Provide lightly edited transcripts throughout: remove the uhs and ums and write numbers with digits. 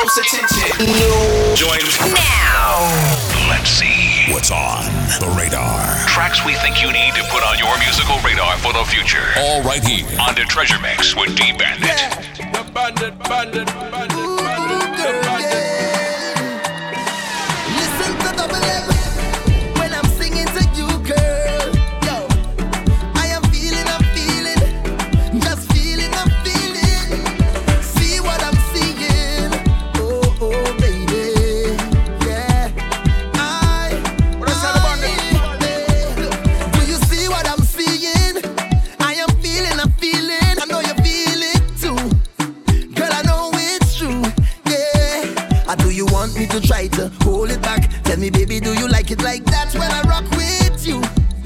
close attention. Join now. Let's see what's on the radar. Tracks we think you need to put on your musical radar for the future. All right here on the Treasure Mix with D-Bandit. Yeah. The bandit. Listen to Double M when I'm singing to you, girl. Yo, I am feeling, just feeling, I'm feeling. See what I'm seeing. Oh, baby, yeah. Do you see what I'm seeing? I am feeling, I'm feeling. I know you feel it too. Girl, I know it's true, yeah. Do you want me to try to hold it back? Tell me, baby, do you like it like that when I rock with you?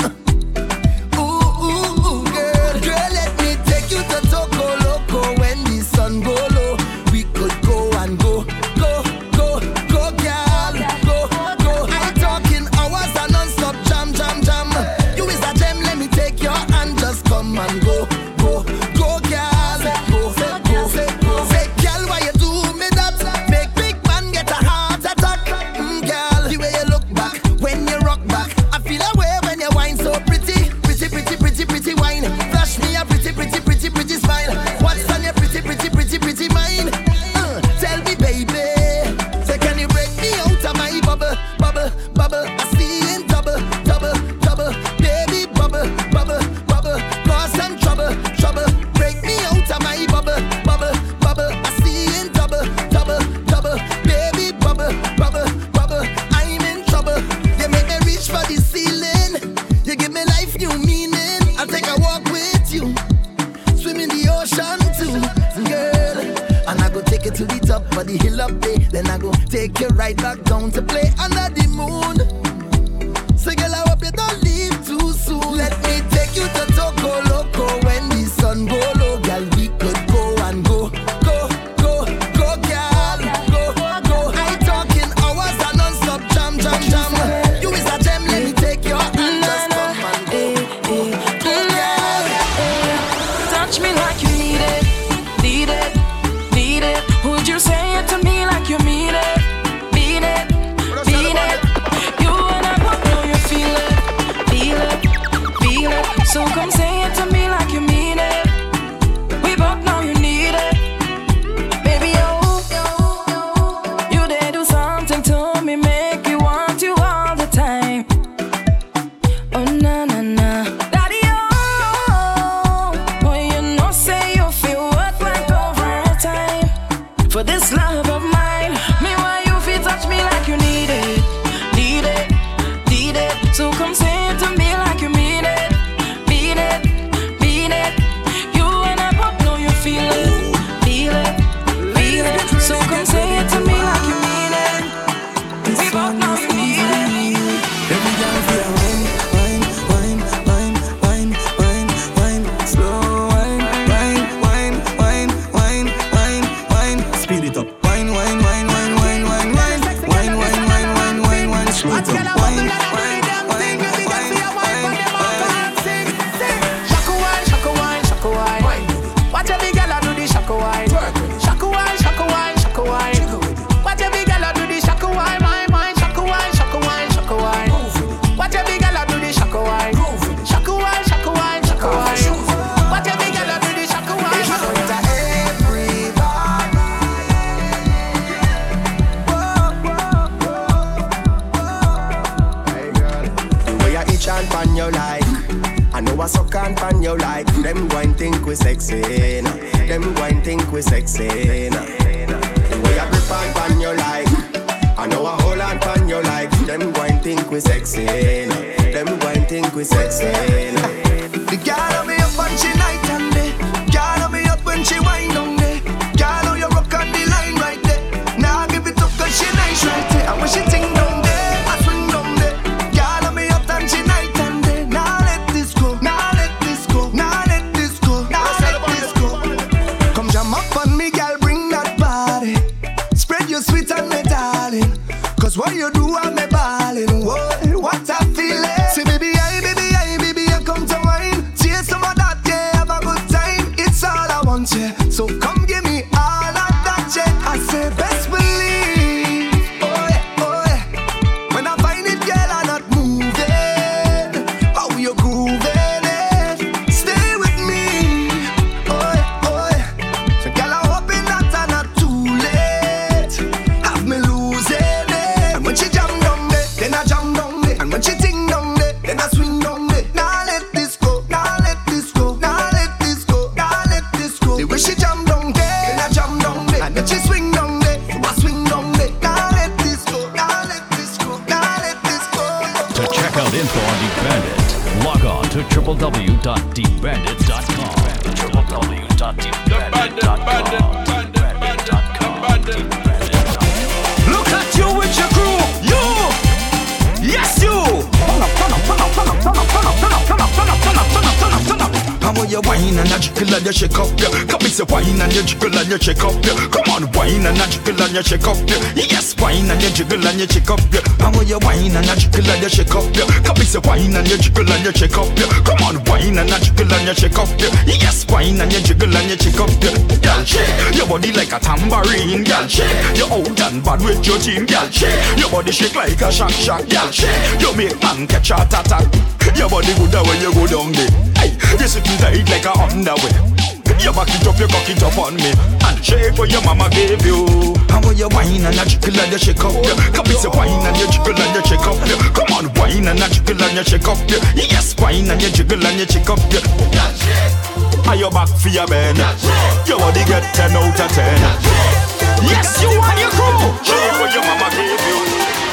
Ooh, girl. Girl, let me take you to Toco Loco when the sun go low. We could go and go, girl. Go. I'm talking hours and non-stop jam. You is a gem, let me take your hand, just come and go, girl. Go. Say, girl, why you do me that? Make big man get a heart attack. Girl, the way you look back when you rock back, I feel away when you whine so pretty wine. Flash me a pretty smile. What's on your pretty mind? Tell me, baby, say can you break me out of my bubble? I see in double, baby, bubble, cause some trouble. Break me out of my bubble. I see in double, baby, bubble. I'm in trouble. You make me reach for the ceiling. You give me life, new meaning. I'll take a walk with you, swim in the ocean too, girl. And I go take you to the top of the hill up there. Then I go take you right back down to play under the moon. So girl, I hope you don't leave too soon. Let me take you to Toco Loco when the sun go low. Girl, we could go and go, girl. Go. I talking hours and non-stop jam. You is a gem, let me take your hand, just come and go, Touch me like you need it. Would you say it to me like you mean it? Beat it. You and I both know you feel it. So come say it to me like you mean it. We both know you need it. Baby, you did do something to me, make me want you all the time. Oh, na. Daddy, boy, you know, say you feel worth like overtime. For this love of mine, me why you feel touch me like you need it. So come say it to me like you mean it. Beat it. You and I both know you feel it. So come say it to me like you mean it. We both know you need it. Every girl feel wine, slow wine, speed it up. Wine, slow it up. Watch a big girl do the shaka wine. Shaka wine. Watch a big girl do the shaka wine. My shaka wine. Watch a big girl do the shaka wine. Shaka wine. Watch a big girl do the shaka wine. The way I itch and pan you like, I know I suck and pan you like. Them go and think we sexy, nah. Them go and think we sexy, nah. The way I grip and pan you like, I know I hold and pan you like. Them go and think we sexy, nah. Them go and think we sexy, nah. The girl on me up and she night and day. Girl on me up when she wind on me. Girl on you rock on the line right there. Now give it up 'cause she nice right there. And when she ting down there, I swing down there. Girl on me up and she night and day. Now let this go. Come jam up on me, girl, bring that body. Spread your sweet and me darling. 'Cause what you do, I'm me ballin'. What I feel it. Say baby, I come to wine. Chase some of that, yeah, have a good time. It's all I want, yeah. So come give me all of that, yeah. I say best believe. and then she swing down there. Swing down there. Can't let this go. Can't let this go. Can't let this go. To check out info on DeepBandit, log on to www.deepbandit.com. Look at you with your crew. You. Yes, you. Turn up. How will you whine and you jiggle and you shake up, yeah? Come it's a whine and you jiggle and you shake up, yeah. Come on, whine and you jiggle and you shake up, yeah. Yes, whine and you jiggle and you shake up, yeah. How will you whine and you jiggle and you shake up, yeah? Come it's a whine and you jiggle and you shake up, yeah. Come on, whine and you jiggle and you shake up, yeah. Yes, whine and you jiggle and you shake up, yeah. Girl, shake your body like a tambourine, girl, shake. You're out and bad with your team, girl, shake. Your body shake like a shock, girl, shake. You make man catch a attack. Your body good when you go down there. Hey, you sitting tight like a underwear. You back it up, you cock it up on me. And shake what your mama gave you. How will you whine and you jiggle and you shake up, yeah. Come it's a whine and you jiggle and you shake up, yeah. Come on, whine and you jiggle and you shake up, yeah. Yes, whine and you jiggle and you shake up, yeah. Are you back for your man? Your body get 10 out of 10. Yes, you and your crew. Shake what your mama gave you.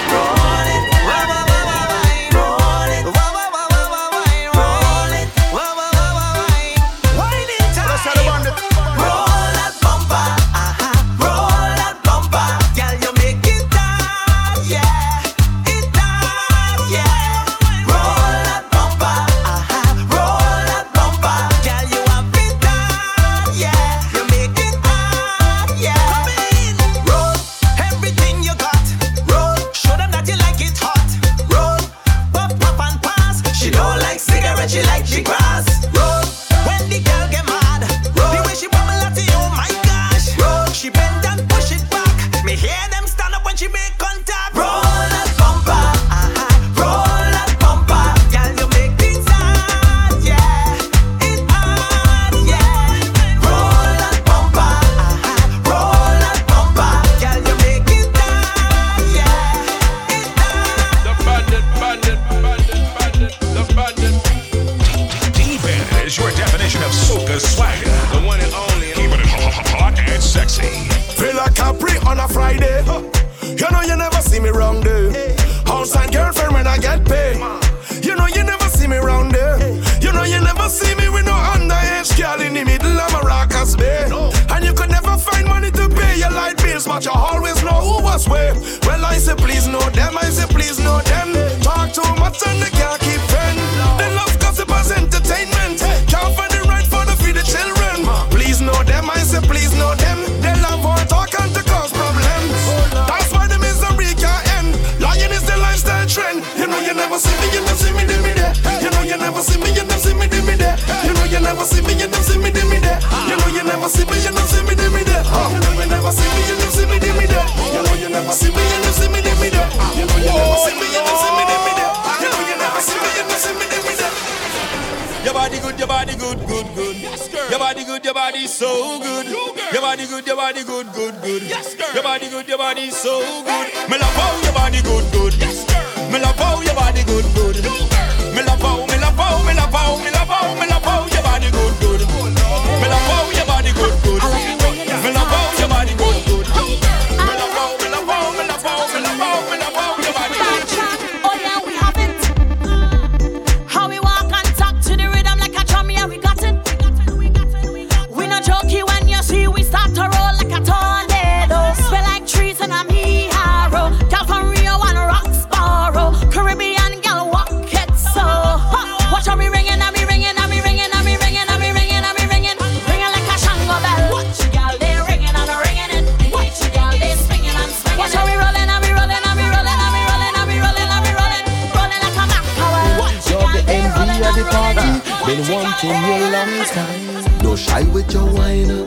Been wanting you long time. Don't shy with your whiner.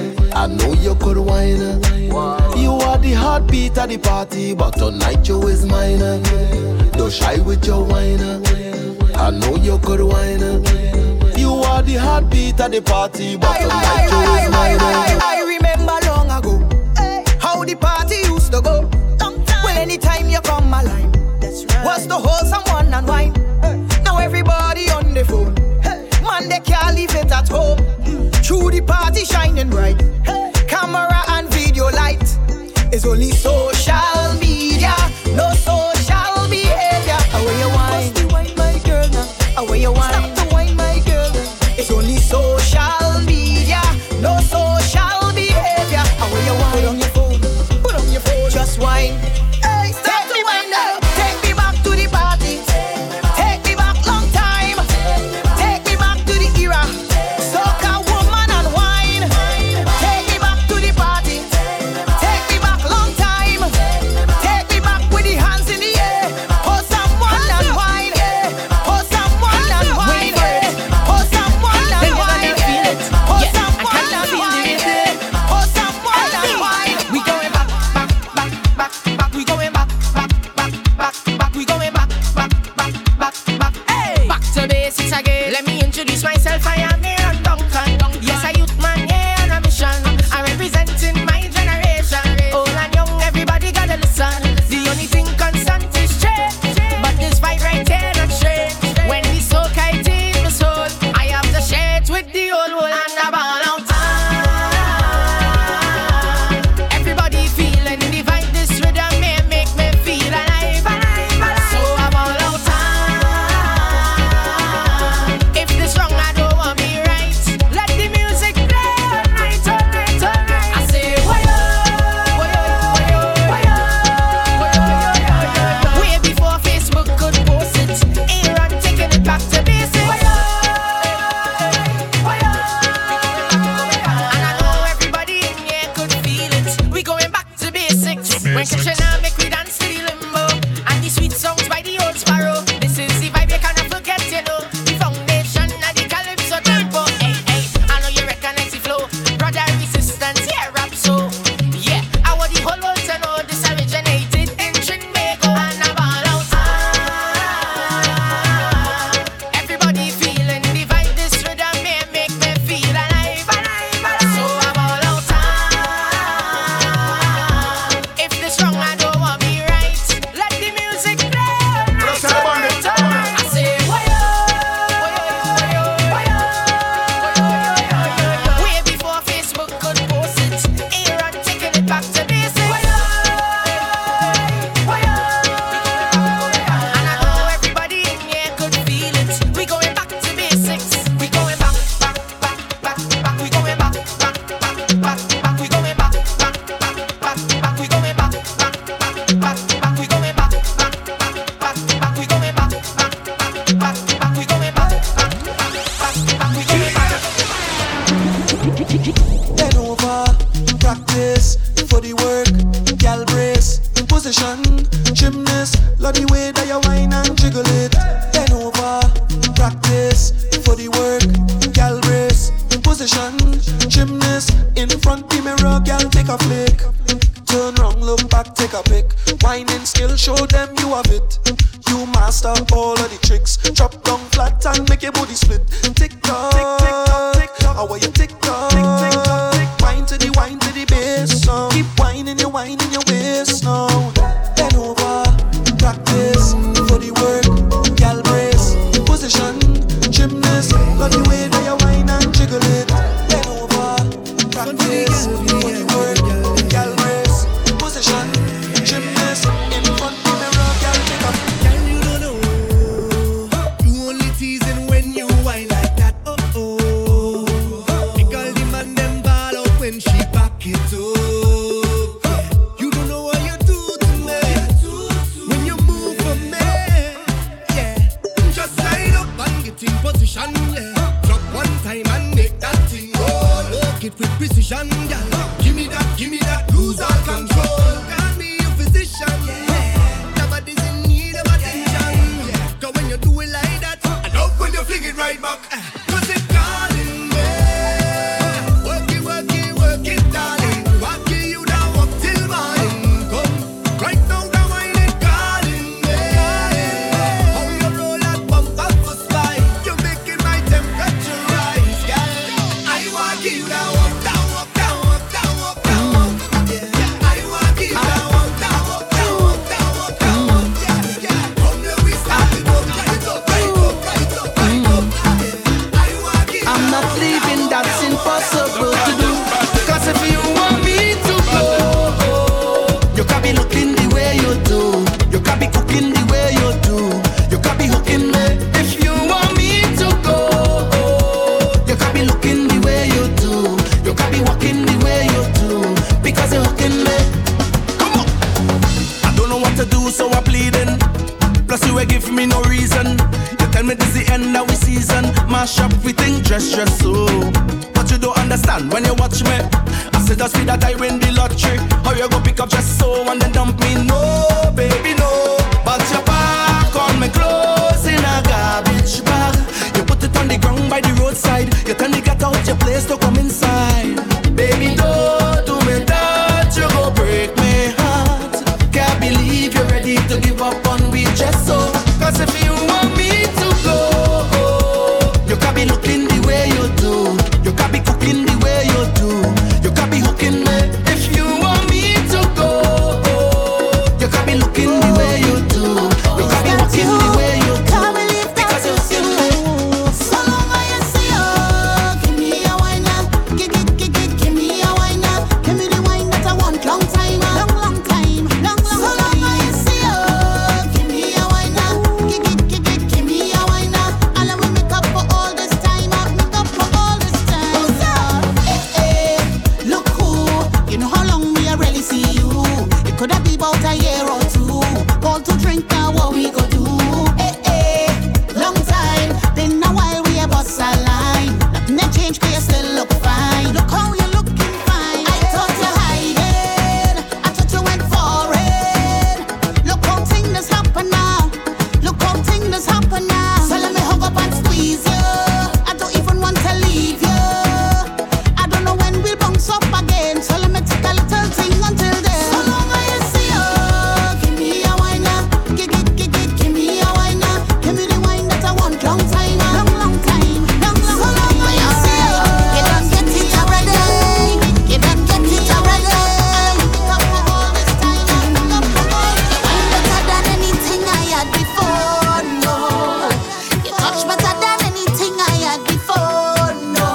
I know you could whiner. You are the heartbeat at the party, but tonight you is mine. Don't shy with your whiner. I know you could whiner. You are the heartbeat at the party, but tonight you is mine. I remember long ago how the party used to go. Well, anytime you come my line, was to hold someone and wine. Now everybody on the phone. Man, they can't leave it at home. Through the party shining bright. Camera and video only social media, no social behavior. Away you wine, bust the wine, my girl now. Away you wine, stop the wine, my girl. It's only social media, no social behavior. Away you wine, put on your phone, just wine. Hey, stop the wine now. Take me back to the party. Take me back long time. Take me back to the era. Soca woman and wine. Take me back to the party. Take me back long time. Take me back with the hands in the air. Pour someone and wine. Pour someone and wine. Pour someone and wine. Pour someone and wine. Pour someone and wine. We going back, back, back, back, back. We going back, back, back, back, back. We going back, back, back, back, back. Hey, back to basics again. Let me introduce myself. I am Aaron Duncan. Yes, a youth man, yeah, on a mission. I'm representing my generation. Old and young, everybody gotta listen. The only thing constant is change, but this fight right here not change. When we so kite in the soul, I have to share it with the old world and the ball out. Everybody feeling the vibe, this rhythm may make me feel alive, alive, alive. So I'm all out. If this wrong, I don't want me right. Let the music play all night, all night, all night. I say, way before Facebook could post it. Aaron taking it back to basics. And I know everybody in here could feel it. We going back to basics. When Krishna make we dance to the limbo and the sweet songs by the old sparrow. This is the vibe you cannot forget, you know. The foundation of the calypso tempo. Hey, hey, I know you recognize the flow. Brother resistance, yeah, rap so. Yeah, I want the whole world to know this originated in Trinbago and I'm all out. Everybody feeling the vibe, this rhythm may make me feel alive, alive, alive. So I'm all out. If this wrong, I don't want me right. Let the music play all night, all night, all night. I say, way before Facebook could post it. Aaron taking it back to basics. And I know everybody in here could feel it. We going back to basics. We going back, back, back, back, back. We going back, back, back, back, back. We going back, back, back, back, back. We going back, back, back, back, back. We going back, back, back, back, back. We going back, back, back, back, back. We going back, back, back, back. We going back. Bend over, practice for the work. Gal brace, position, gymnast. Love the way that you whine and jiggle it. Bend over, practice for the work. Gal brace, position, gymnast. In front the mirror, gal take a flick. Turn round, look back, take a pic. Whining skill, show them you have it. You master all of the tricks. Drop down flat and make your body split. Tick tock, tick tock, tick tock. How are you tick tock? Tick tock, tick. Wine to the bass song. Keep whining your waist now. Bend over, practice for the work. Gal brace, position, gymnast. Love the way that you whine and jiggle it. Bend over, practice for the work. Gal brace, position, gymnast. In front the mirror, gal take up. Girl, you don't know. You only teasing when you whine like that. Oh oh. Make all the man them ball out when she back it up. You don't know what you do to you, so I'm pleading. Plus you ain't give me no reason. You tell me this the end of the season. Mash up everything, dress so. But you don't understand when you watch me. I said just see that I win the lottery. How you go pick up just so and then dump me? No, baby, no. But you pack on me clothes in a garbage bag. You put it on the ground by the roadside. You turn the cat out your place to come inside. Baby, don't do me that. You go break my heart. Can't believe you're ready to give up on me just so. Cause if you want me to go, you can't be looking the way you do. You can't be cooking the way you do. You can't be hooking me. If you want me to go, you can't be looking the way you do. You can't be hooking the way you do. Can't believe that you see me. So long I see you. Give me a wine now. Give me a wine now. Give me the wine that I want. Long time, long time. So long I see you. Give me a wine now. Give me a wine now. All we make up for all this time. Make up for all this time. Hey, look who. You know how long me I really see you. It could have been about a year or two. Call to drink now, what we go do? Hey, long time. Been a while we a bust a line. Nothing ain't changed, 'cause you still look fine. Look how you looking fine. I thought you hiding. I thought you went foreign. Look how things happen now. Look how things happen now. So let me hug up and squeeze you. I don't even want to leave you. I don't know when we'll bounce up again. So let me take a little thing until then. So long I see you. Give me a wine now. Give me a wine now. Give me the wine that I want. Long time, long time. So long I see you. You don't get it already. You don't get it already. Make up for all this time. Make up for all this time. Better than anything I had before. No, you touch better than anything I had before. No,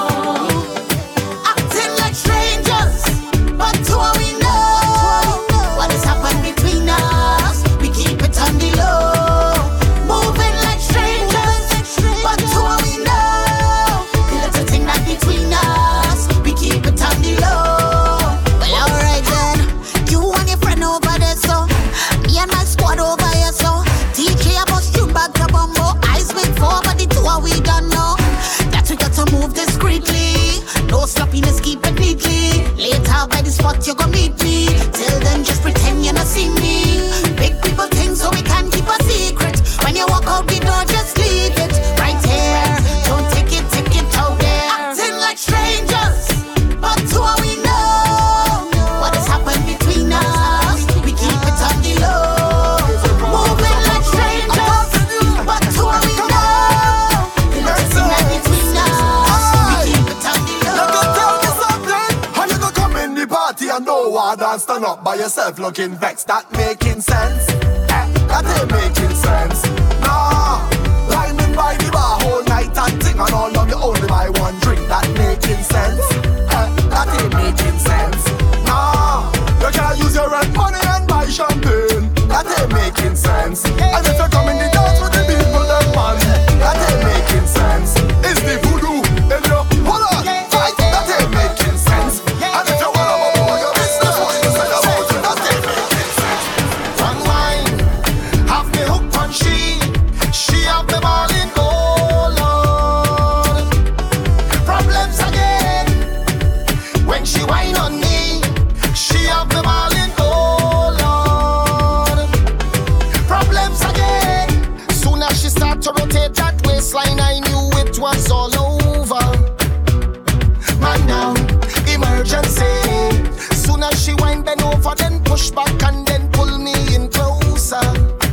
acting like strangers, but who we know? What has happened between us? We keep it on the low. Moving like strangers, but who we know? The little thing that between us, we keep it on the low. Well, alright then, you and your friend over there, so me and my squad over here, so DJ I bust you back to bumbo. Eyes big for, but the two we don't know. That we got to move discreetly. No sloppiness, keep it neatly. Later by the spot you gon' meet me. Till then just pretend you not see me. Big people think so we can keep a secret. When you walk out the door, just leave it right here. Don't take it out there. Acting like strangers, but who we know? What has happened between us? We keep it on the low. Moving like strangers, but who we know? The little thing that between us, we keep it on the You low. can tell me something. How you gonna come in the party and no one and stand up by yourself looking vexed? That making sense? That ain't making sense. Nah, lining by the bar whole night and ting and all of you only buy one drink. That making sense? That ain't making sense. Nah, you can't use your rent money and buy champagne. That ain't making sense. And if you come in the dance with the people, then man, that ain't making sense. It's the voodoo in your wallet. Right? That ain't making sense. And if you wanna know your business, what you say about it, that ain't making sense. One wine, have me hooked on she have me balling, oh Lord. Problems again, when she whine on me, she have me balling, oh Lord. Problems again, soon as she start to rotate that waistline, I knew it was all over. Man down, emergency. Soon as she whine, bend over, then push back and then pull me in closer.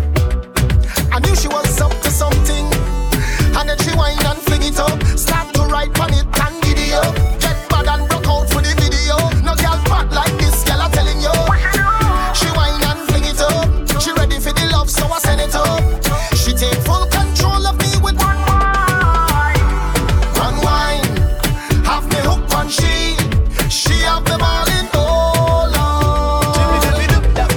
I knew she was up to something, and then she whine and fling it up. Start to ride on it and giddy up. Get mad and broke out for the video. No girl bad like this, girl I'm telling you. She whine and fling it up. She ready for the love, so I send it up. She take full control of me with one wine. One wine, have me hooked on she have me balling, oh Lord.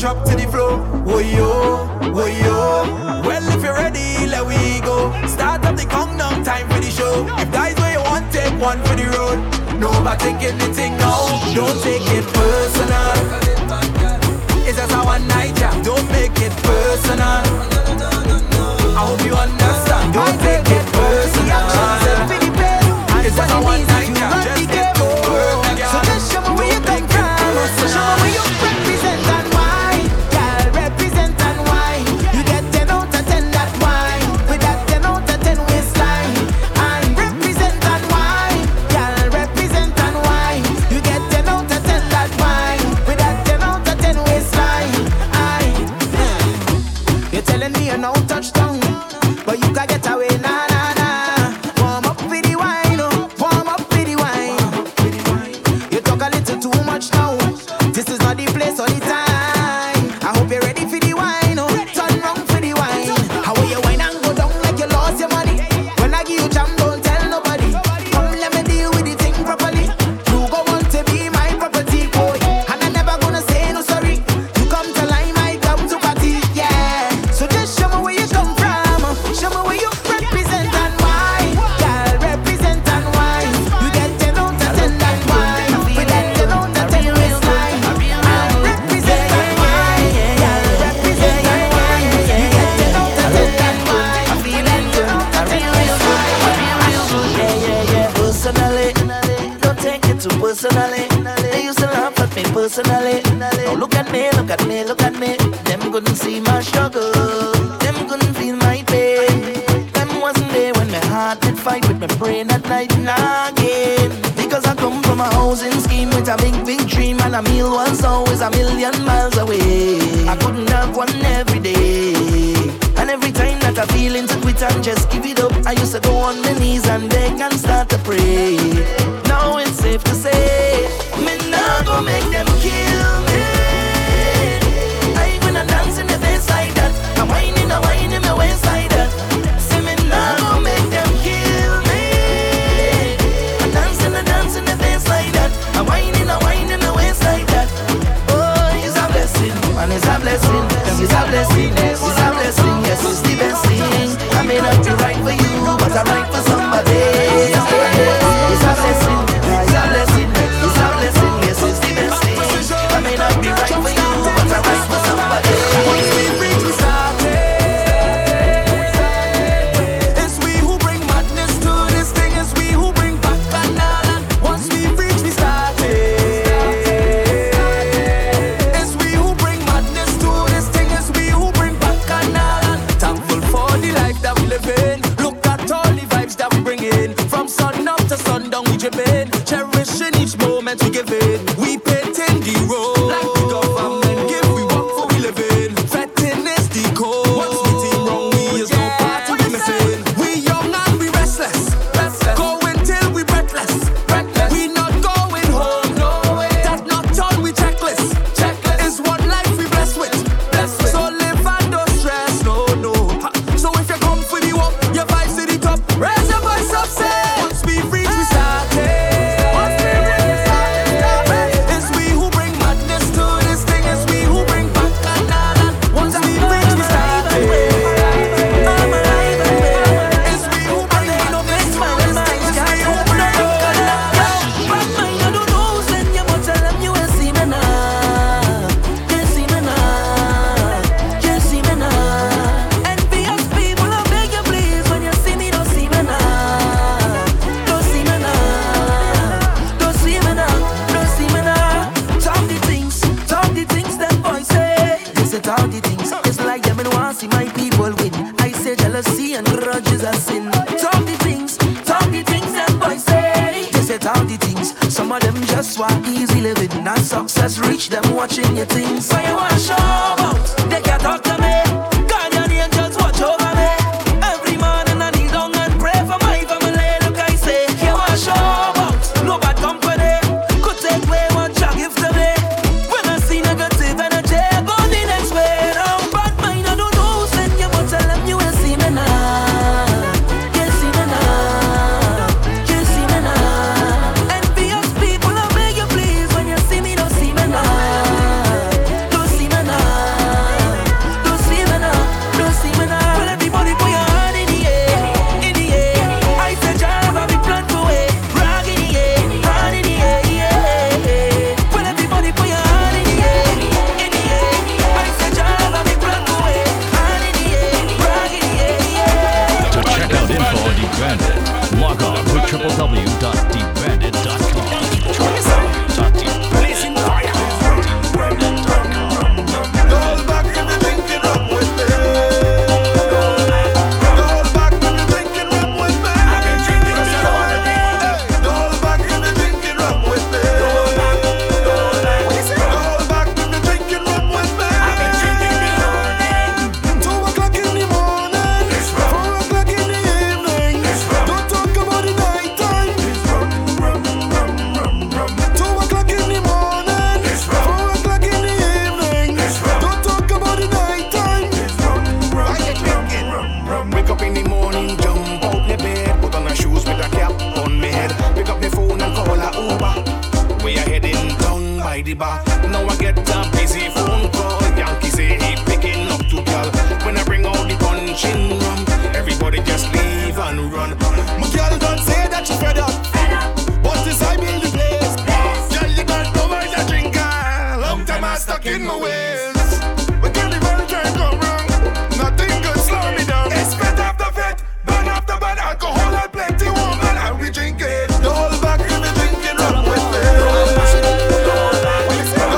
drop to the floor. Oh yo, oh yo. Well, if you're ready, let we go. Start up the countdown, time for the show. If that's where you want, take one for the road. No about taking the thing now. Don't take it personal. It's just a one night jam. Don't make it personal. I hope you understand. Don't take it personal. It's just a one night jam. Just get to work. So just show me where you come from. Show me where you represent and why. Girl, represent and why. You get 10 out of 10 that why. With that 10 out of 10 waistline. I represent and why. Girl, represent and why. You get 10 out of 10 that why. With that 10 out of 10 waistline. You're telling me you're no touchdown, but you can get away, nah, nah, nah. Warm up for the wine, oh. Warm up for the wine. You talk a little too much now. This is not the place or the time. I hope you're ready for the wine, oh. Turn round for the wine. How will you wine and go down like you lost your money? When I give you jam, don't tell nobody. Come let me deal with the thing properly. You go want to be my property, boy, and I'm never gonna say no sorry. You come to line, I come to party, yeah. So just show me where you come from. Show me where you represent and why. Girl, represent and why. You get 10 out of 10 that why. With that 10 out of 10 waistline. I represent and why. Girl, represent and why. You get 10 out of 10 that why. With that 10 out of 10 waistline. Personally, don't take it too personally. They used to laugh at me personally. Now look at me, look at me, look at me. Them couldn't see my struggle. Them couldn't feel my pain. Them wasn't there when my heart did fight with my brain at night and again. Because I come from a housing scheme with a big, big dream, and a meal was always a million miles away. I couldn't have one every day. And every time that I feel into quit and just give it up, I used to go on my knees and beg and start to pray. Now it's safe to say, me not gonna make them kill me. I ain't gonna dance in the face like that. I'm whining my waist like that. Say me not gonna make them kill me. I'm dancing the face like that. I'm whining my waist like that. Oh, it's a blessing, and it's a blessing. It's a blessing, it's a blessing. Yes, it's the best thing. I may not be right for you, but I'm right for somebody. It's a blessing, it's a blessing, it's a blessing. Yes, it's the best thing. I may not be right for you, but I'm right for somebody. It's we who bring madness to this thing. It's we who bring back and once we reach, we started. It's we who bring madness to this thing. It's we who bring back and thankful for the life that we live in. Look at all the vibes that we bring in. From sun up to sundown we dripping. Cherishing each moment we give it. We painting the road like the government give we work for we live in. Fretting is the code. What's the team wrong? We is no part to be missing. We young and we restless. Going till we breathless. We not going home. That's not all we checklist. It's one life we blessed with. So live and don't stress. No. So if you come for the walk, your vibes to the top. Raise your voice up, say. Once we reach, we started. It's we who bring madness to this thing. It's we who bring back and once we reach, we started. It's we who bring madness to this thing. It's we who bring back and I don't know, send you, but tell them you ain't see me now. Can't see me now. Can't see me now. Envious people, I beg you please, when you see me, don't see me now. Don't see me now. Don't see me now. Don't see me now. Talk the things them boys say. They say talk the things. It's like them and want see my people win. I say jealousy and grudges are sin. Talk the things them boys say. They say talk the things. Some of them just want easy living. Not success reach them watching your things. So you want to show out, they can't talk to me. Guardian angels watch over me. Every morning I kneel down and pray for my family. Look, I say, you want to show out, no bad company. Could take away what you give to me. When I see negative energy, I go the next way. Now bad mind, I don't know, send you, but tell them you ain't see me now. Can't see me now. Can't see me now. Envious people, I beg you please, when you see me, don't see me now. Don't see me now. the bar. Now I get a busy phone call. Yankee say he picking up to girl. When I bring out the punching rum, everybody just leave and run. My girl don't say that you fed up, but this I build the place. Girl, you don't know why you drink. Long time I stuck in my ways. But girl, if I try go wrong, nothing could slow me down. It's fed up the fed, burn up the bad alcohol and plenty woman, and we drink it. The whole back we be drinking rum with me.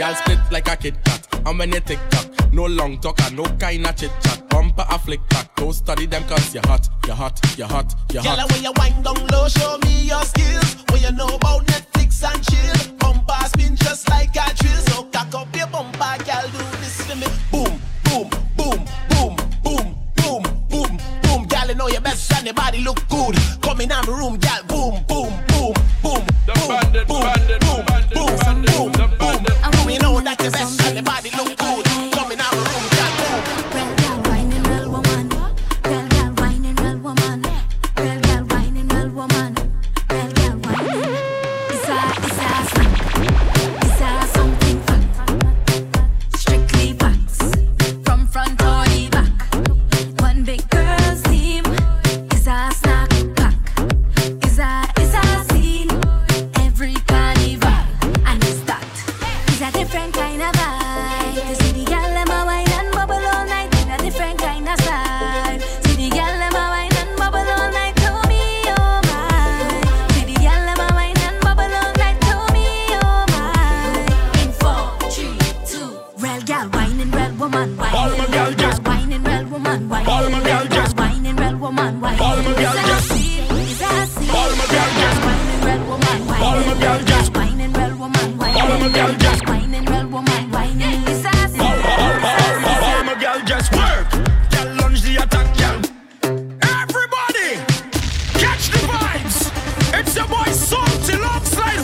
Y'all split like a Kit Kat. And when you tick tock, no long talk and no kind of chit chat. Bumper a flick back, don't study them cause you're hot, you're hot, you're hot, you're hot. Girl, when you wind down low, show me your skills. When you know about Netflix and chill. Bumper spin just like a drill. So cock up your bumper, girl, do this for me. Boom, boom, boom, boom, boom, boom, boom, boom. Girl, you know your best and your body look good. Come in my room, girl, boom, boom, boom, boom, boom, boom, boom, boom, boom, boom. And we know that your best and your body look good. Come in my room, girl, boom. Real girl, whining, real woman. Real girl, whining, real woman. Real girl, whining, real woman. Real girl, whining. It's a something fact. Strictly facts. From front or the back. One big girl's team is a snack pack. Is a scene every carnival, and it's that. It's a different kind of vibe. You see the girl them a wine and bubble all night in a different kind of style. See the girl them a wine and bubble all night to me, oh my. See the girl them a wine and bubble all night to me, oh my. In 4, 3, 2, real girl whining, real woman whining. All my girl just whining, real woman whining. All my girl just whining, real woman whining. All my girl just All my girl just whining, real woman whining. All my girl just whining, real woman whining. All my girl just whining, real woman whining. It's a all my girl just work. Girl lunge the attack, girl. Everybody, catch the vibes. It's your boy Salty Longside.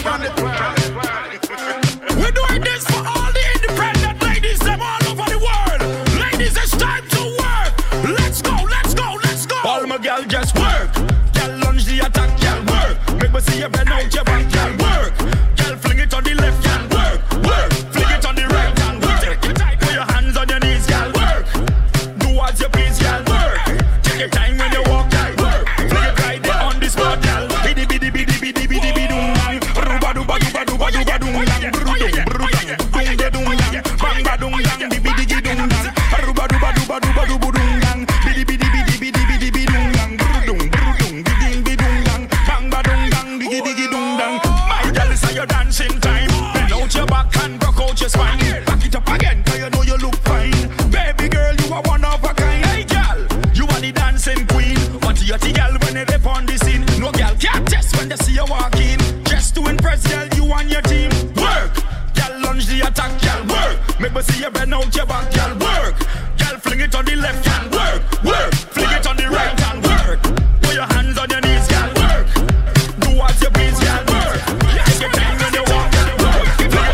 We're doing this for all the independent ladies them all over the world. Ladies, it's time to work. Let's go, let's go, let's go. All my girl just work. Girl lunge the attack, girl work. Make me see you bend out your back, girl work. Girl fling it on the left, girl work, work. Fling it on the right, girl work. Put your hands on your knees, girl work. Do as you please, girl work. Take your time when you walk, girl work. Fling it right there on the spot, girl. Bidi bidi bidi bidi bidi bidi dum dang. Ruba duba duba duba duba dum dang. Brudum brudum dung de dum dang. Bang ba dum dang. Bidi bidi dum dang. Ruba duba duba duba duba dum dang. Bidi bidi bidi bidi bidi bidi dum dang. Brudum brudum bidi bidi dum dang. Bang ba dum dang. Bidi bidi dum dang. My girl, it's your dancing time. Bend out your back and rock out your spine. Back it up again, 'cause you know you look fine. Baby girl, you are one of a kind. Hey girl, you are the dancing queen. What you the girl when they rap on the scene? No girl can't test when they see you walk in. Just to impress, girl, you and your team. Work, girl, lunge the attack, girl, work. Make me see you bend out your back, girl, work. Girl, fling it on the left hand, work, work. Fling it on the right hand, work. Put your hands on your knees, girl, work. Do as you please, girl, work. Take your time when you walk, girl, work.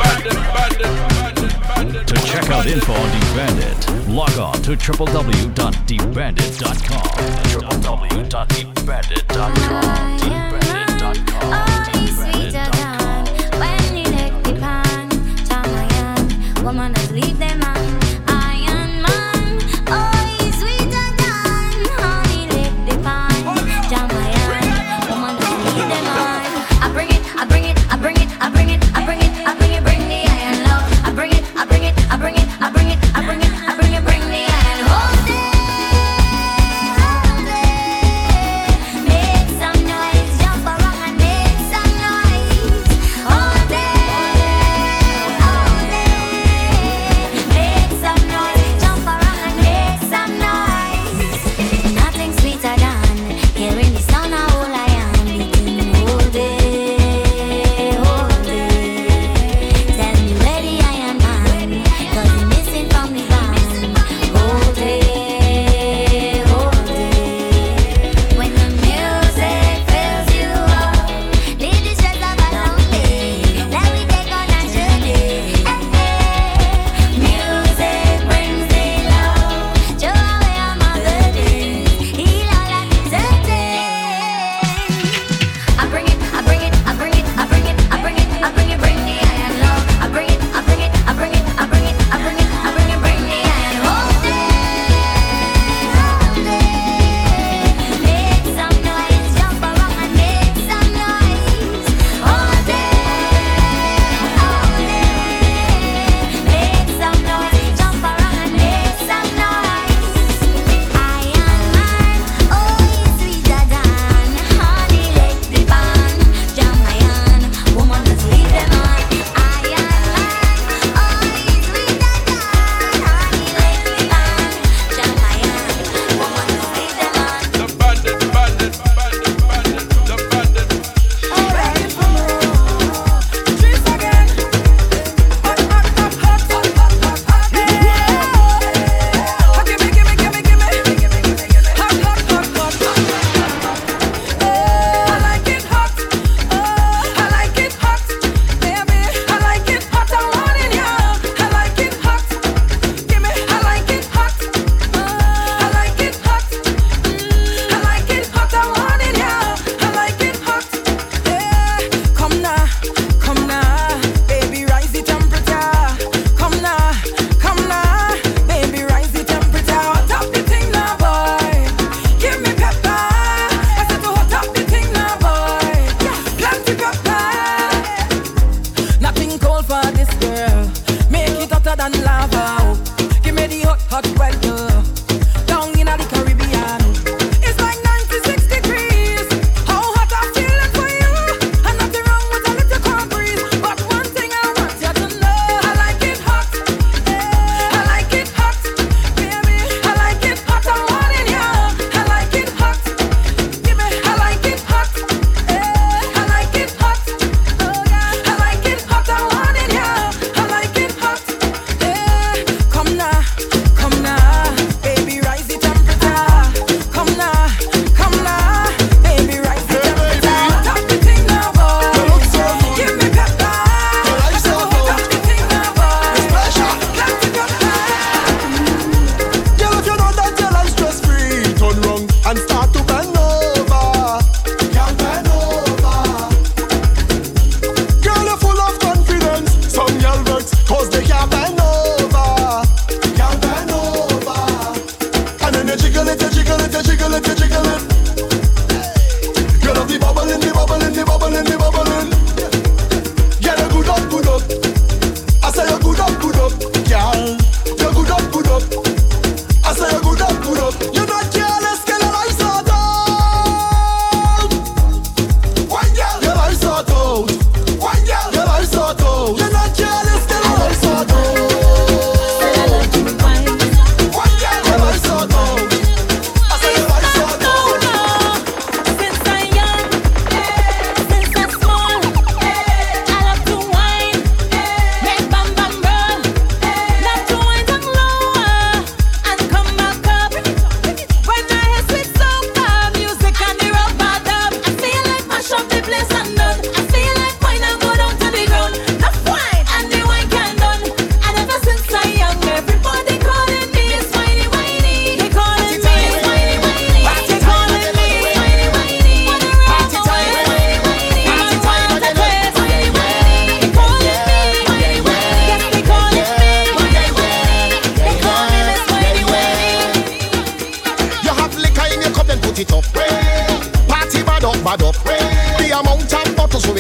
To check out info on DeBandit, log on to www.debandit.com. www.debandit.com. debandit.com. when you take the pan, Jamayan, woman, just leave them on. Iron Man, oh, he's sweeter than honey, lick the pan, Jamayan, woman, just leave them on. I bring it, I bring it, I bring it, I bring it, I bring it, I bring it, bring the iron love. I bring it, I bring it, I bring it, I bring it, I bring it, I bring it, bring the iron. Hold it, make some noise, jump.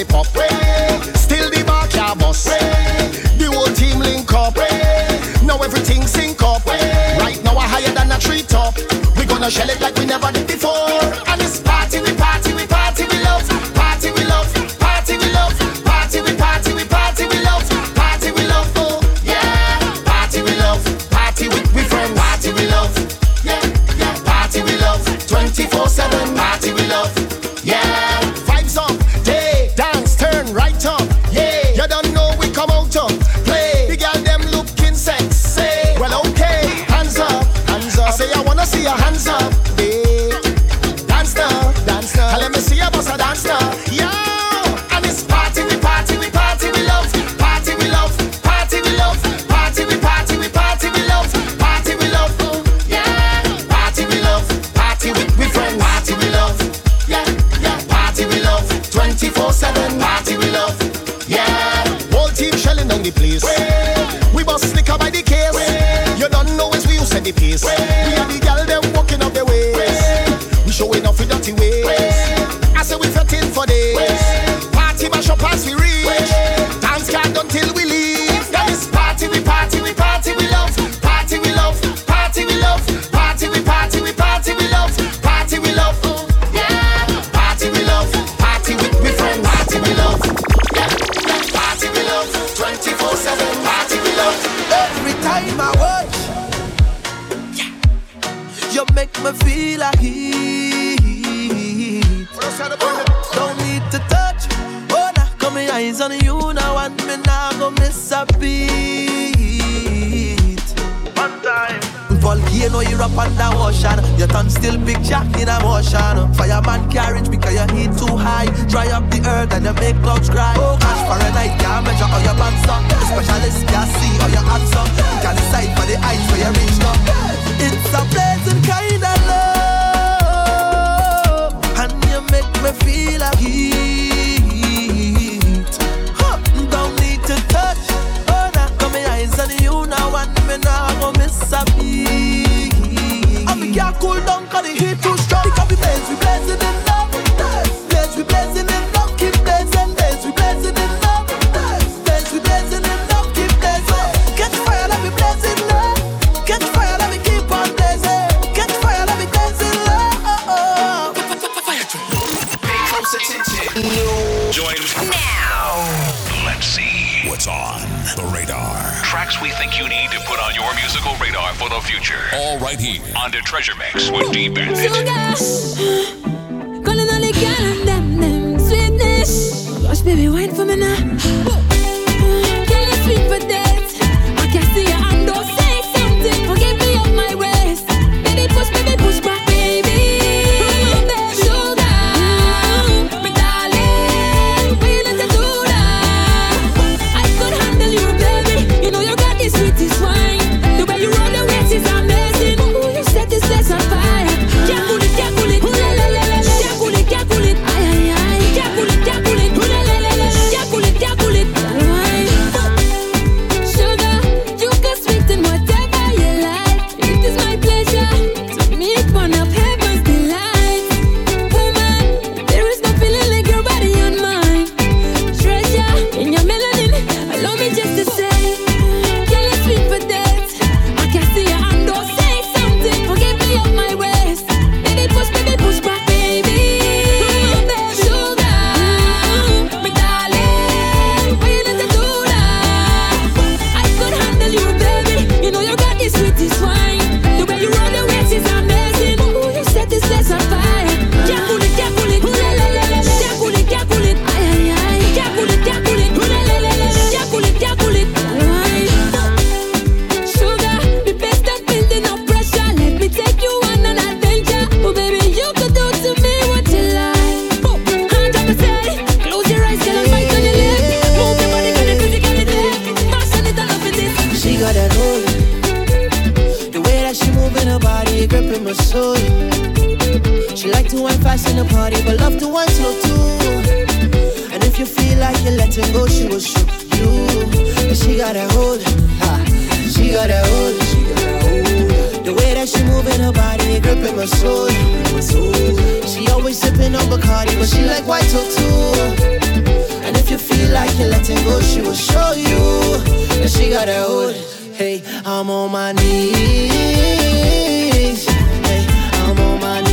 we pop. Still the bar can't bust. The whole team link up. Now everything sync up. Right now we're higher than a treetop. We gonna shell it like we never did before. And it's party, we party, we party, we love. Party, we love. Party, we love. Party, we party, we party, we love. Party, we love. Oh yeah. Party, we love. Party with we friends. Party, we love. Yeah, yeah. Party, we love. 24/7. Party, we love. Yeah. Vibes up, day, dance, turn right up. Yeah. You don't know we come out up. Play. The girl them looking sexy. Well okay. Hands up, hands up. I say I wanna see your hands up. Yeah. Dance now, dance now. Let me see your boss a dance now. Yeah. And it's party, we party, we party, we love. Party, we love. Party, we love. Party, we party, we party, we love. Party, we love. Yeah. Party, we love. Party with we friends. Party, we love. Yeah, yeah. Party, we love. 24/7. Party, we love. Yeah. Whole team shelling down the place. We bust slicker by the case. You don't know as we use the pace. We are the gal them walking up the way. We showing off with dirty ways. I say we fetting for days. Party mash up as we reach. Dance can't done till we leave. That is party, we party, we party, we love. Party, we love. Party, we love. Party, we party, we party, we love. Party, we love. Yeah. Party, we love. Party with we friends. Party, we love. Yeah. Party, we love. 24/7. Party, we love. Every time I watch, you make me feel like heat. Don't need to touch. Oh, now got my eyes on you now, and me now go miss a beat. One time. Volcano, you're up under ocean. Your tongue still picture in a motion. Fireman carriage because your heat too high. Dry up the earth and you make clouds cry. Oh gosh, for a night can't measure how your pants up. The specialist can't see how your hands up. You can decide for the eyes where you reach up. It's a pleasant kind of love, and you make me feel like heat. Don't need to touch. Oh, now got my eyes on you now, and me now go miss a beat. And we can't cool down 'cause the heat too strong. Because we blazing in love. Blaze, we blazing in love. Keep blazing, blaze, we blazing in love. Blaze, we blazing in love. Keep blazing. Catch fire, let me blaze in love. Catch fire, let me keep on blazing. Catch fire, let me blaze in love. Pay close attention. Join now. Let's see what's on the radar. Tracks we think you need to put on your musical radar for the future. All right here on the Treasure Mix with D Bandit. Calling all the girl and them sweetness. Rush, baby, wine for me now. Girl, you sweet for that. I can see your hand, don't say something. Forgive me of my waist. Baby, push back, baby. Sugar, my darling, we need to do that. I could handle you, baby. You know you got the sweetest wine. The way you roll the waist is amazing. Ooh, you set this place on fire. Can't pull it, can't pull it. Ooh, la la la la. Can't pull it, can't pull it. Ay ay ay. Can't pull it, can't pull it. Ooh, la la la la. Can't pull it, can't pull it. Sugar, you can sweeten whatever you like. It is my pleasure to meet one of heaven's delight. Woman, there is no feeling like your body on mine. Treasure in your melanin. Allow me just to say, girl, you sweet for that. I can see your hand, don't say something. Forgive me of my waist. Baby, push back, baby. Sugar, my darling, we need to do that. I could handle you, baby. You know you got the sweetest wine. The way you roll the waist is amazing. Ooh, you set this place on fire. Can't pull it, can't pull it. Ooh, la la la la. Can't pull it, can't pull it. Ay ay ay. Can't pull it, can't pull it. Ooh, la la la la. Can't pull it, can't pull it. Sugar, the best at building up pressure. Let me take you on an adventure. Oh baby, you could do to me what you like. Hand up and say, close your eyes, girl, and bite on your lip. Move your body, girl, and physically there. Passion it, I love it. She got that hold. The way that she moving her body, gripping my soul. She like to wine fast in the party, but love to wine slow too. And if you feel like you're letting go, she will show you. And she got that hold. Ha. She got that hold. The way that that she moving her body, gripping my soul. She always sipping on Bacardi, but she like white talk too. And if you feel like you're letting go, she will show you that she got a hold. Hey, I'm on my knees. Hey, I'm on my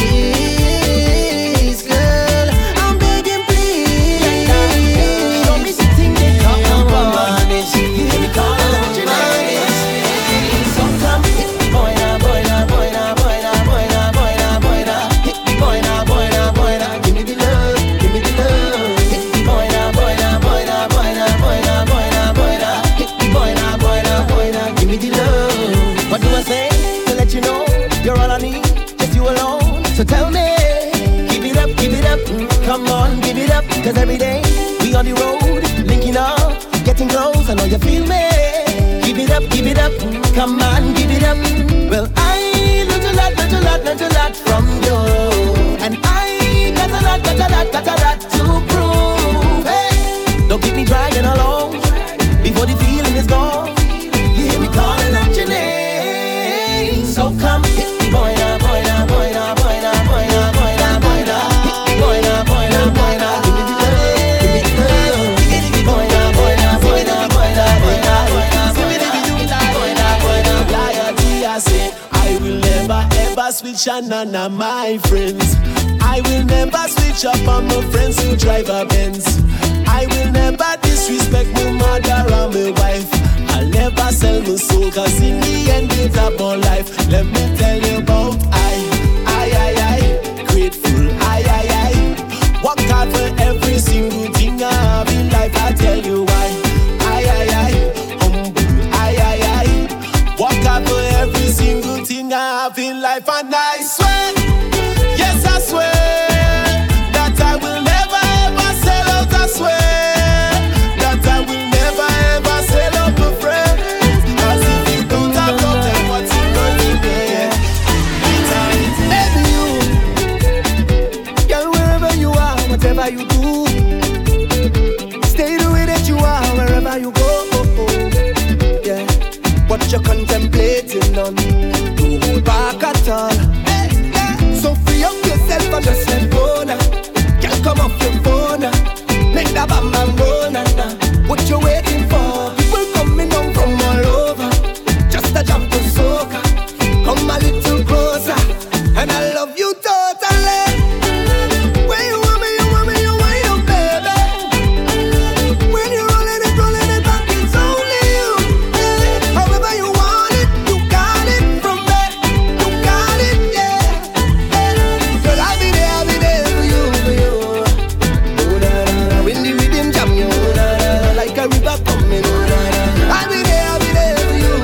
knees, girl. I'm begging, please. Show me something they talk about. I'm on my knees. You hear me calling out your name. So come hit me, boy, now, boy, now, boy, now, boy, now, boy, now, boy, now, boy, now. Hit me, boy, now, boy, now, boy, now. Give me the love, give me the love. Hit me, boy, now, boy, now, boy, now, boy, now, boy, now, boy, now, boy, now. Hit me, boy, now, boy, now, boy, now. Give me the love. What do I say to let you know you're all I need, just you alone? So tell me, give it up, come on, give it up. Cause every day we on the road, linking up, getting close. I know you feel me. Give it up, come on, give it up. Well, I learned a lot from you, and I got a lot to prove. Hey, don't keep me dragging along before the feeling is gone. You hear me calling out your name, so come hit me, boy now, boy now, boy now, boy now, boy now, boy now, boy now. Hit me, boy now, boy now, boy now. Give me the love, give me the love. Hit me, boy now, boy now, boy now, boy now, boy now, boy now. Give me the boy now, boy now. Loyalty, I say, I will never ever switch on none of my friends. I will never switch up on my friends who drive a Benz. I will never disrespect my mother or my wife. I'll never sell my soul, cause in the end it's about life. Let me tell you about I, grateful, I. Work hard for every single thing I have in life, I tell you why. I, humble, I. Work hard for every single thing I have in life, and I swear, yes I swear, that I will never ever sell out, I swear. That I will never ever sell out my friends. Cause if you don't have love, then what's it going to be? Baby, you, girl, wherever you are, whatever you do, stay the way that you are, wherever you go. Yeah, what you're contemplating on, don't hold back at all. So free up yourself and just let go now. Girl, come off your phone now. Make that bam bam go now. What you waiting for? People coming down from all over, just a jump to soca. Come a little closer, and I love you totally. When you want me, you wind up, baby. When you're rolling it back, it's only you. However you want it, you got it from me. You got it, yeah. Girl, I'll be there for you. Oh, da, da, da. When the rhythm jam you, oh, da, da, da. Like a river coming, oh, da, da, da. I'll be there for you.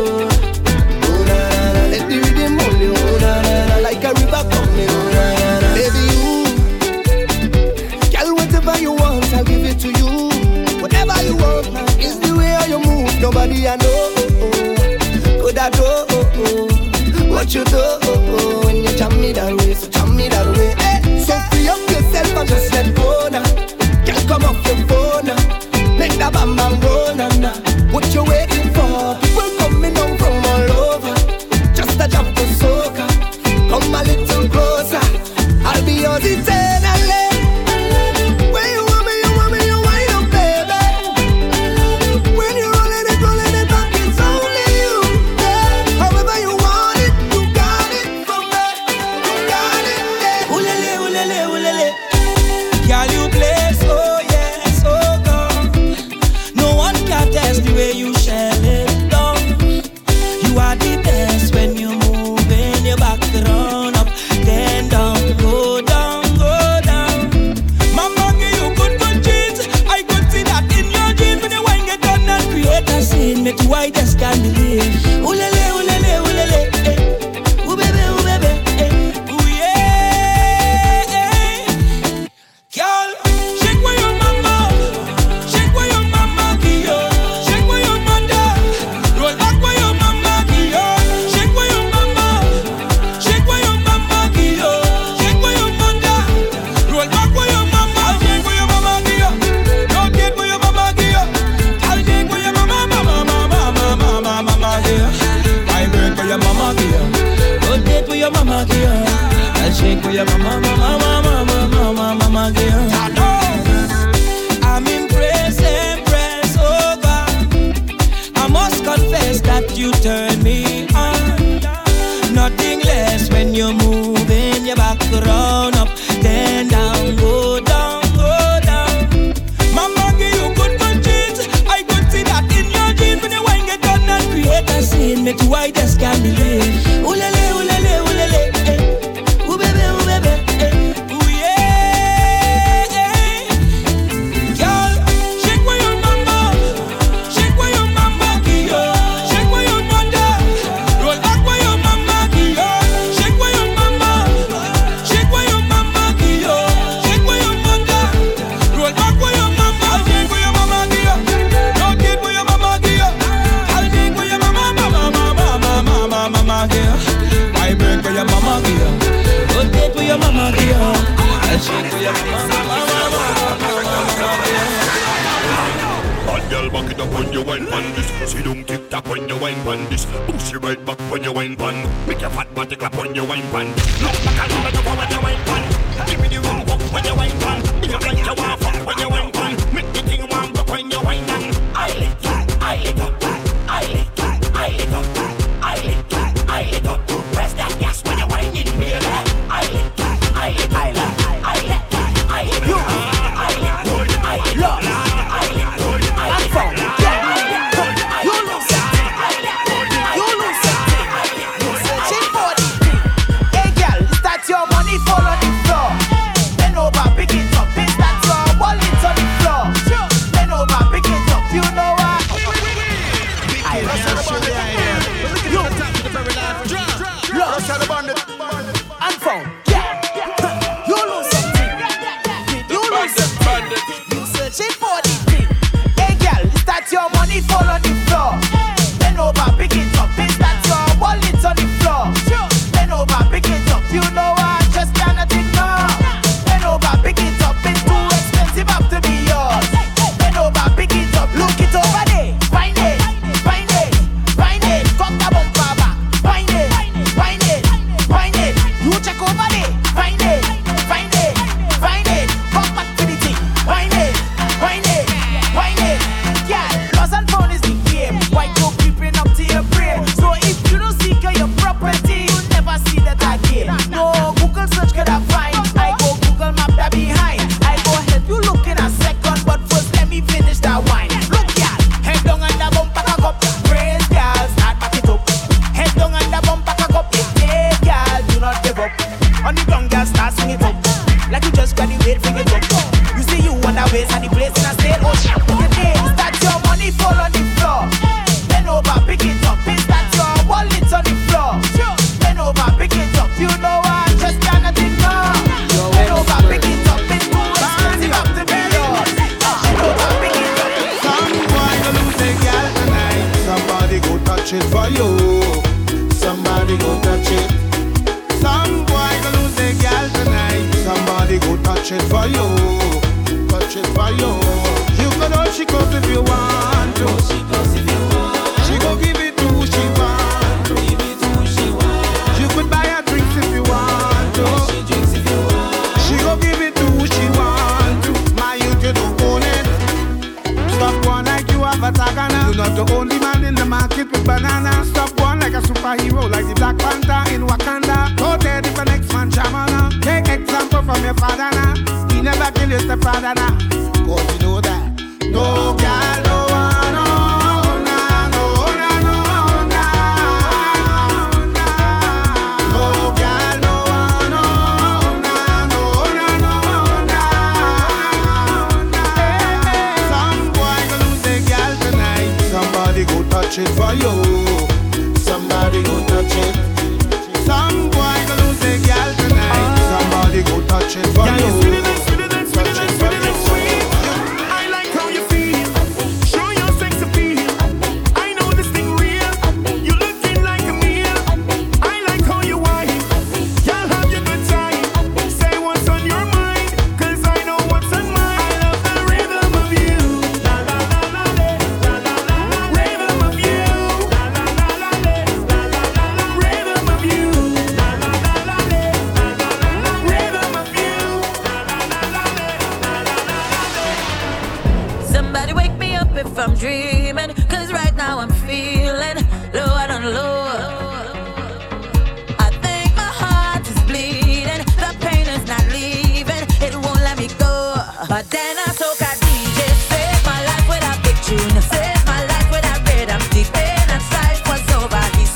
Oh, da, da, da. Let the rhythm hold you, oh, da, da, da. Like a river coming, oh, da, da, da. Baby, you, girl, whatever you want, I'll give it to you. Whatever you want, is the way how you move. Nobody I know, could I do what you do when you jam me that way, so jam me that way. Hey, so free up yourself and just let go now. Can't come off your phone now. Make that bam bam go now. What you waiting for? People coming down from all over, just a jump to soca. Come a little closer, I'll be yours eternally. When you want me, you wind up, baby. When you're rolling it back, it's only you. Yeah. However you want it, you got it from me. You got it, yeah. Ulele, ulele, ulele. Girl, you play so yes, oh God. No one can test the way you shell it down. You are the best when you move in your back, run up, then down, go down, go down. Mama give you good jeans. I could see that in your jeans when you wine get done and create a scene. Make you white as can believe. Ulele, ulele, ulele. Ooh baby, eh. Ooh yeah, eh. Girl, shake where your mama, shake where your mama give you, shake where your mother, roll back where your mama give you, shake where your mama give you, shake where your mother, roll back where your mama, shake where your mama give you, don't get where your mama give you, I'll shake where your mama. me too I just can't believe. Ulele, ulele, ulele, ooh baby, ooh yeah. Girl, shake where your mama, shake where your mama give you, shake where your mother, roll back where your mama give you, shake where your mama, shake where your mama give you, shake where your mother, roll back where your mama, shake where your mama give you, don't get where your mama give you, I'll shake where your mama give you, I break where your mama give you, don't get where your mama give you, I'll shake where your mama. Bad girl, back it up when you wine pan this. See don't tick tock when you wine pan this. Push it right back when you wine pan. Make your fat body clap when you wine pan. Look back and look up when you wine pan. Give me the wrong walk when you wine pan. Make you like you want fuck when you wine pan. Make the thing warm up when you wine pan. I lick that, I lick up that, I lick that, I lick up that, I lick that, I lick up. Press that gas when you wine in me. I lick that, I lick, I lick, I lick that, I lick, you, I lick, I love. Save my life with a rhythm, deep in and strife was over. He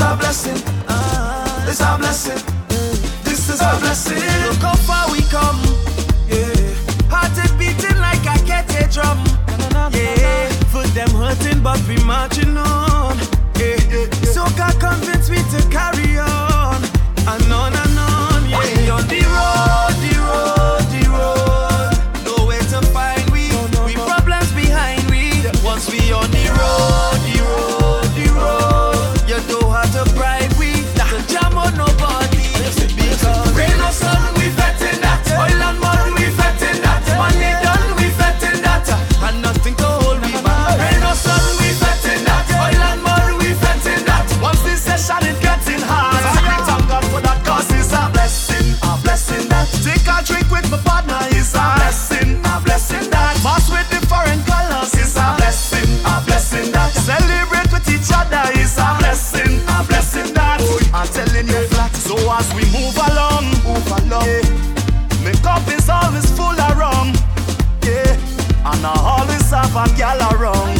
a blessing. It's a blessing. This is a blessing. Look how far we come. Yeah. Heart is beating like a kettle drum. Yeah. Foot them hurting, but we marching on. Yeah. So God convinced me to carry on. And on and on. Yeah. We on the road, the road, the road. Nowhere to find we. We problems behind we. Once we on the road, the road, the road. You don't have to bribe we. To jam on nobody. Because rain or sun, we fetting that. Oil and mud, we fetting that. Money done, we fetting that. And nothing to hold me back. Rain or sun, we fetting that. Oil and mud, we fetting that. Once this session is getting hard, I thank God for that, cause it's a blessing that. Take a drink with my partner, it's a blessing that. Mass with the foreign colors, it's a blessing that. Celebrate with each other, it's a blessing that. I'm telling you flat, so as we move along, yeah. My cup is always full of rum, yeah. And I always have a gal around,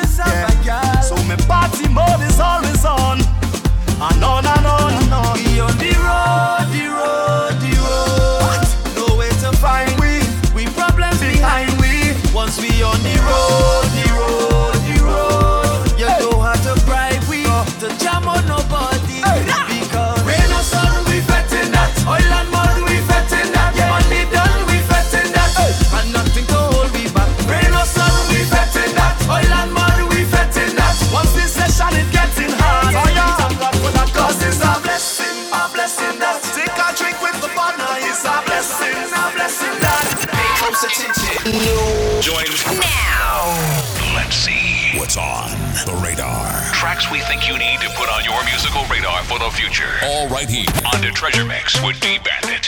yeah. So my party mode is always on, and on and on and on. We on the road, the road, the road. Nowhere to find we problems behind we. Once we on the road, the road, the road. You don't have to bribe we to jam on nobody. Because rain or sun, we fetting that. Oil and mud, we fetting that. Money done, we fetting that. And nothing to hold me back. Rain or sun, we fetting that. Oil and mud, we fetting that. Once this session is getting hard, thank God for that, cause it's a blessing that. Take a drink with the partner, it's a blessing that. Pay close attention. Join now. Let's see what's on the radar. Tracks we think you need to put on your musical radar for the future. All right here on the Treasure Mix with D-Bandit.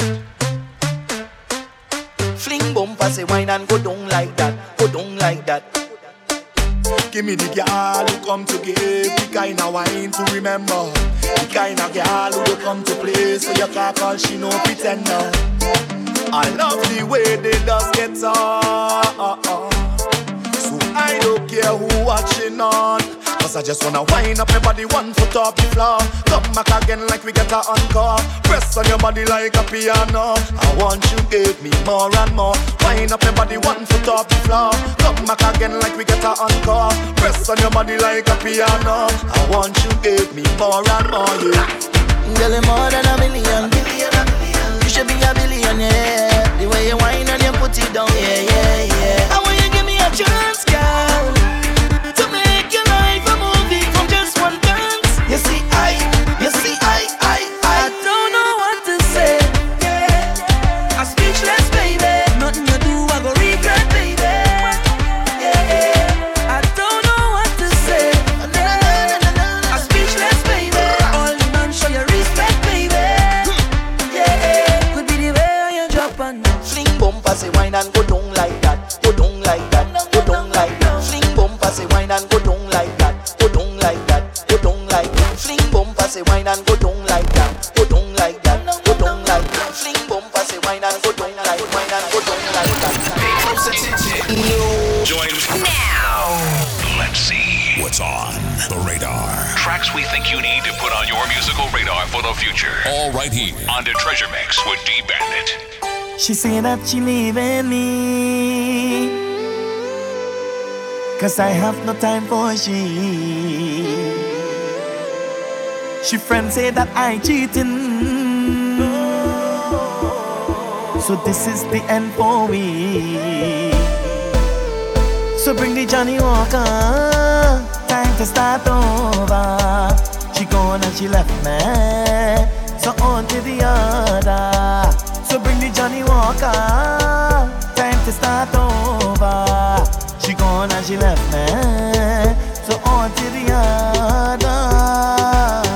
Fling bumper, say wine and go down like that. Go down like that. Give me the girl who come to give the kind of wine to remember. The kind of girl who come to play so you can't call she no pretender. I love the way they just get on. So I don't care who watching on. Cause I just wanna wind up your body 1 foot off the floor. Come back again like we get a encore. Press on your body like a piano. I want you give me more and more. Wind up your body 1 foot off the floor. Come back again like we get a encore. Press on your body like a piano. I want you give me more and more, yeah. Girl, you're more than a million. You should be a billionaire. The way you whine and you put it down, yeah. I want you give me a chance, girl, to make your life a movie from just one dance. You see, I don't know what to say. Yeah. I'm speechless, baby. Nothing you do, I go regret, baby. Yeah. I don't know what to say. I'm speechless, baby. All the man show you respect, baby. Yeah. Could be the way you drop and fling bumper, say wine and go down like that. Go down like that. Go down like that. Fling bumper, say wine and go down like that. Go down like that. Go down like that. Fling bumper, say wine and go down like that. Go down like that. Go down like that. Fling bumper, say wine and go down like wine and go down like that. Pay close attention. Join now. Let's see what's on the radar. Tracks we think you need to put on your musical radar for the future. All right here on the Treasure Mix with D-Bandit. She say that she leaving me, cause I have no time for she. She friends say that I cheating, so this is the end for me. So bring the Johnny Walker, time to start over. She gone and she left me, so on to the other. So bring the Johnny Walker, time to start over. She gone and she left me, so on to the other.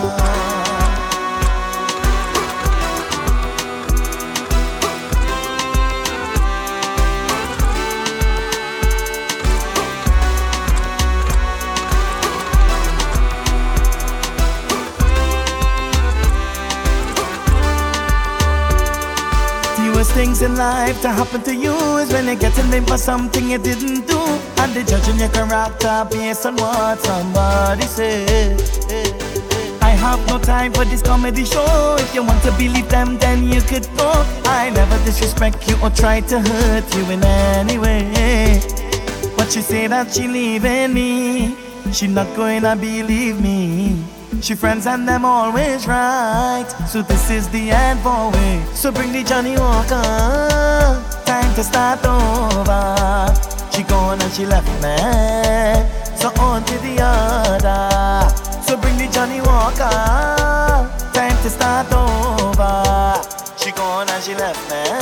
Worst things in life to happen to you is when you get in there for something you didn't do, and they judging your character based on what somebody said. I have no time for this comedy show. If you want to believe them, then you could go. I never disrespect you or try to hurt you in any way. But she say that she leaving me. She not going to believe me. She friends and them always right. So this is the end for me. So bring the Johnny Walker. Time to start over. She gone and she left me. So on to the other. So bring the Johnny Walker. Time to start over. She gone and she left me.